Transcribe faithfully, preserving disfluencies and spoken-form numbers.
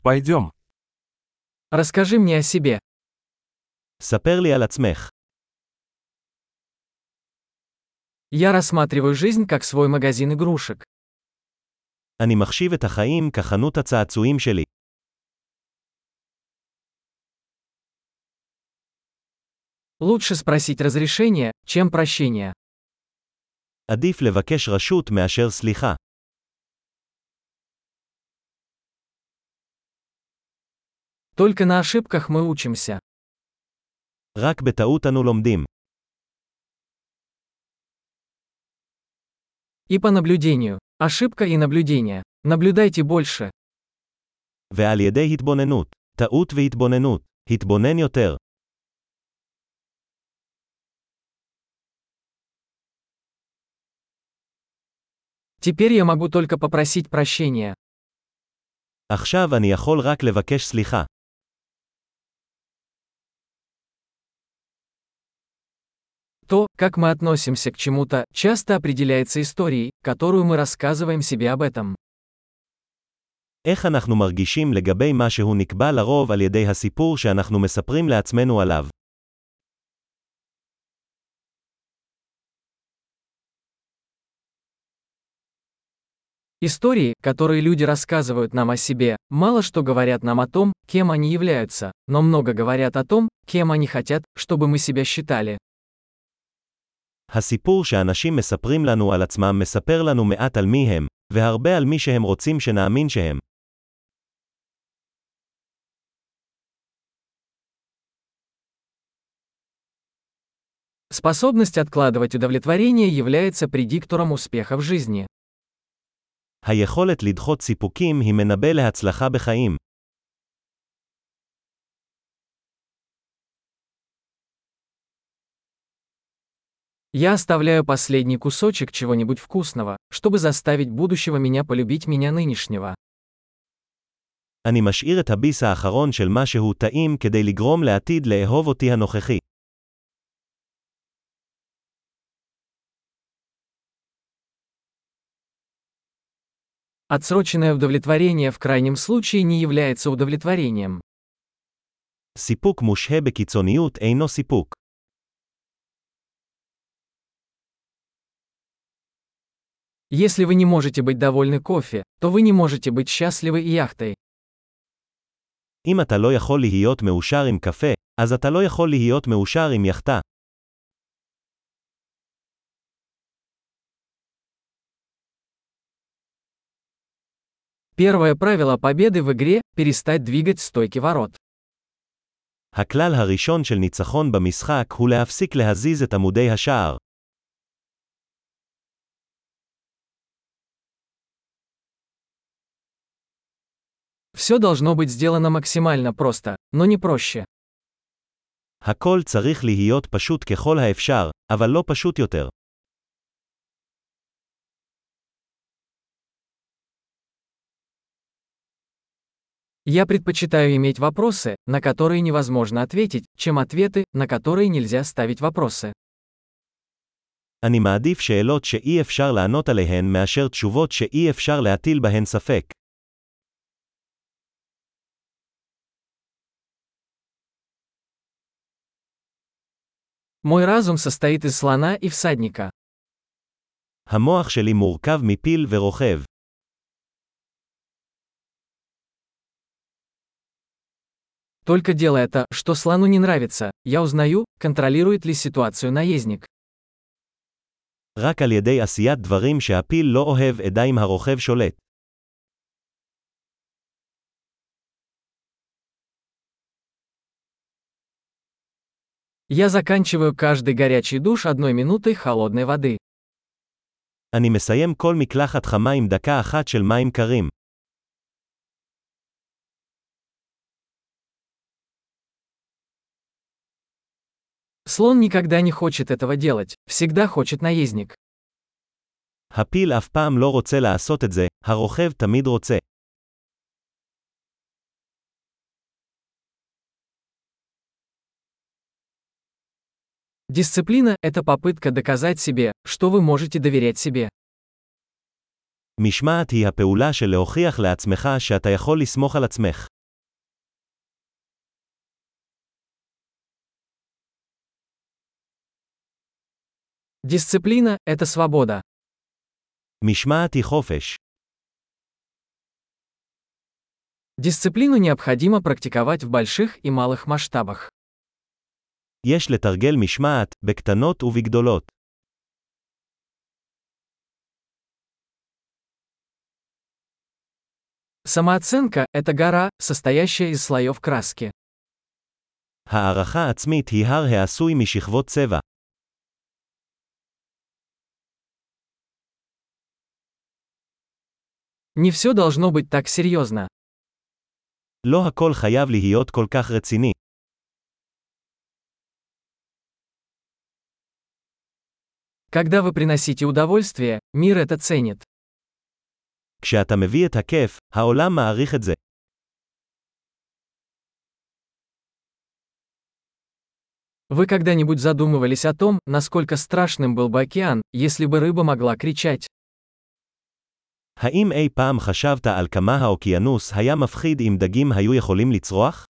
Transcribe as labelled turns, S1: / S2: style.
S1: Пойдем.
S2: Расскажи мне о себе.
S3: ספר לי על עצמך.
S2: Я рассматриваю жизнь как свой магазин игрушек.
S3: אני מחשיב את החיים כחנות הצעצועים שלי.
S2: Лучше спросить разрешение, чем прощение.
S3: עדיף לבקש רשות מאשר סליחה.
S2: Только на ошибках мы учимся.
S3: רק בטעות אנו לומדים.
S2: И по наблюдению. Ошибка и наблюдение. Наблюдайте больше.
S3: ועל ידי התבוננות. טעות והתבוננות. התבונן יותר.
S2: Теперь я могу только попросить прощения.
S3: עכשיו אני יכול רק לבקש סליחה.
S2: То, как мы относимся к чему-то, часто определяется историей, которую мы рассказываем себе об этом.
S3: איך אנחנו מרגישים לגבי משהו נקבע לרוב על ידי הסיפור שאנחנו מספרים לעצמנו עליו.
S2: Истории, которые люди рассказывают нам о себе, мало что говорят нам о том, кем они являются, но много говорят о том, кем они хотят, чтобы мы себя считали.
S3: הסיפור שאנשים מספרים לנו על עצמם מספר לנו מעט על מי הם, והרבה על מי שהם רוצים שנאמין שהם.
S2: Способность откладывать удовлетворение является предиктором успеха в жизни.
S3: היכולת לדחות סיפוקים היא מנבא להצלחה בחיים.
S2: Я оставляю последний кусочек чего-нибудь вкусного, чтобы заставить будущего меня полюбить меня нынешнего.
S3: אני משאיר את הביס האחרון של משהו טעים כדי לגרום לעתיד לאהוב אותי הנוכחי.
S2: Отсроченное удовлетворение в крайнем случае не является удовлетворением.
S3: סיפוק מושהה בקיצוניות אינו סיפוק.
S2: Если вы не можете быть довольны кофе, то вы не можете быть счастливы и яхтой.
S3: אם אתה לא יכול להיות מאושר עם קפה, אז אתה לא יכול להיות מאושר עם יחטה.
S2: Первое правило победы в игре – перестать двигать стойки ворот.
S3: הכלל הראשון של ניצחון במשחק הוא להפסיק להזיז את עמודי השער.
S2: Все должно быть сделано максимально просто, но не проще.
S3: הכל צריך להיות פשוט ככל האפשר, אבל לא פשוט יותר.
S2: Я предпочитаю иметь вопросы, на которые невозможно ответить, чем ответы, на которые нельзя ставить вопросы.
S3: אני מעדיף שאלות שאי אפשר לענות עליהן מאשר תשובות שאי אפשר להטיל בהן ספק.
S2: Мой разум состоит из слона и всадника.
S3: המוח שלי מורכב מפיל ורוכב.
S2: Только делая то, что слону не нравится, я узнаю, контролирует ли ситуацию наездник.
S3: רק על ידי עשיית דברים שהפיל לא אוהב אדע אם הרוכב שולט.
S2: Я заканчиваю каждый горячий душ одной минутой холодной воды.
S3: אני מסיים כל מקלחת חמה עם דקה אחת של מים קרים.
S2: Слон никогда не хочет этого делать, всегда хочет наездник.
S3: הפיל אף פעם לא רוצה לעשות את זה, הרוכב תמיד רוצה.
S2: Дисциплина – это попытка доказать себе, что вы можете доверять себе.
S3: משמעת היא הפעולה של להוכיח לעצמך שאתה יכול לסמוך על עצמך.
S2: Дисциплина – это свобода.
S3: משמעת היא חופש.
S2: Дисциплину необходимо практиковать в больших и малых масштабах.
S3: יש לתרגל משמעת, בקטנות ובגדולות.
S2: Самооценка – это гора, состоящая из слоев краски.
S3: הערכה עצמית היא הר העשוי משכבות צבע.
S2: Не все должно быть так серьезно.
S3: לא הכל חייב להיות כל כך רציני.
S2: Когда вы приносите удовольствие, мир это ценит.
S3: כשאתה מביא את הכיף, העולם מעריך את זה.
S2: Вы когда-нибудь задумывались о том, насколько страшным был бы океан, если бы рыба могла кричать?
S3: האם אי פעם חשבת על כמה האוקיינוס היה מפחיד אם דגים היו יכולים לצרוח?